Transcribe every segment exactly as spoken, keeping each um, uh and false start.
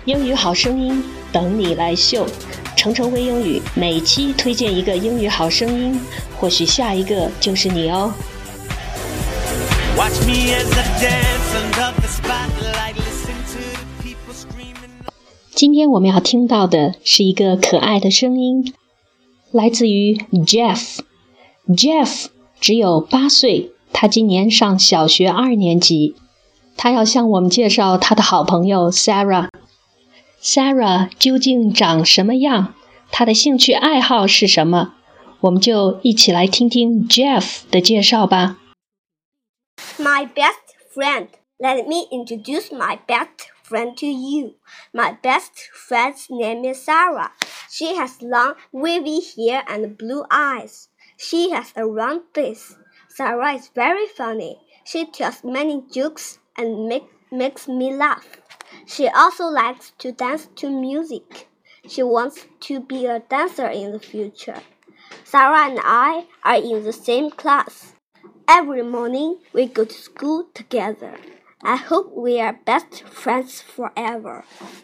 英语好声音等你来秀，程程微英语每期推荐一个英语好声音，或许下一个就是你哦。Watch me as I dance under the spotlight, listen to the people screaming. 今天我们要听到的是一个可爱的声音，来自于 Jeff。Jeff 只有八岁，他今年上小学二年级。他要向我们介绍他的好朋友 Sarah。Sarah 究竟长什么样？他的兴趣爱好是什么？我们就一起来听听 Jeff 的介绍吧。 My best friend. Let me introduce my best friend to you. My best friend's name is Sarah. She has long, wavy hair and blue eyes. She has a round face. Sarah is very funny. She tells many jokes and make, makes me laugh. She also likes to dance to music. She wants to be a dancer in the future. Sarah and I are in the same class. Every morning we go to school together. I hope we are best friends forever.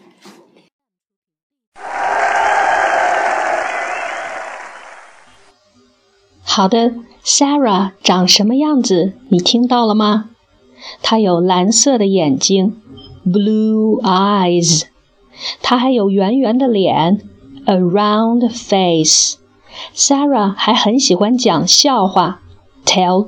好的 ，Sarah 长什么样子？你听到了吗？她有蓝色的眼睛 ，blue eyes。她还有圆圆的脸 ，a round face。Sarah 还很喜欢讲笑话 ，tell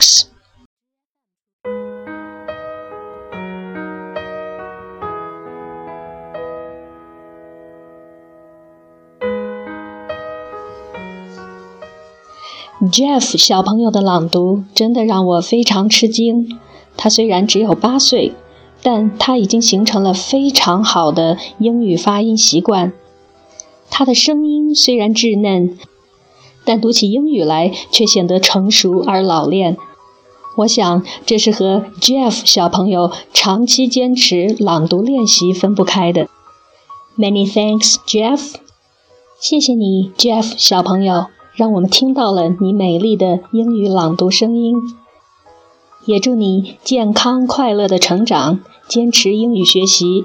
jokes。Jeff 小朋友的朗读真的让我非常吃惊。他虽然只有八岁，但他已经形成了非常好的英语发音习惯。他的声音虽然稚嫩，但读起英语来却显得成熟而老练。我想这是和 Jeff 小朋友长期坚持朗读练习分不开的。Many thanks, Jeff。谢谢你 ，Jeff 小朋友。让我们听到了你美丽的英语朗读声音，也祝你健康快乐的成长，坚持英语学习。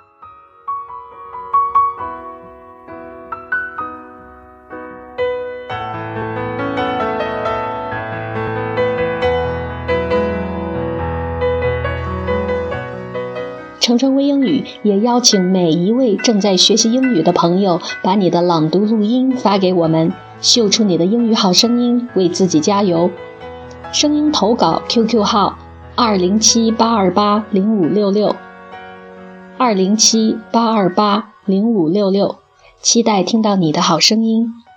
程程微英语也邀请每一位正在学习英语的朋友，把你的朗读录音发给我们。秀出你的英语好声音，为自己加油。声音投稿 Q Q 号二零七八二八零五六六 二零七八二八零五六六，期待听到你的好声音。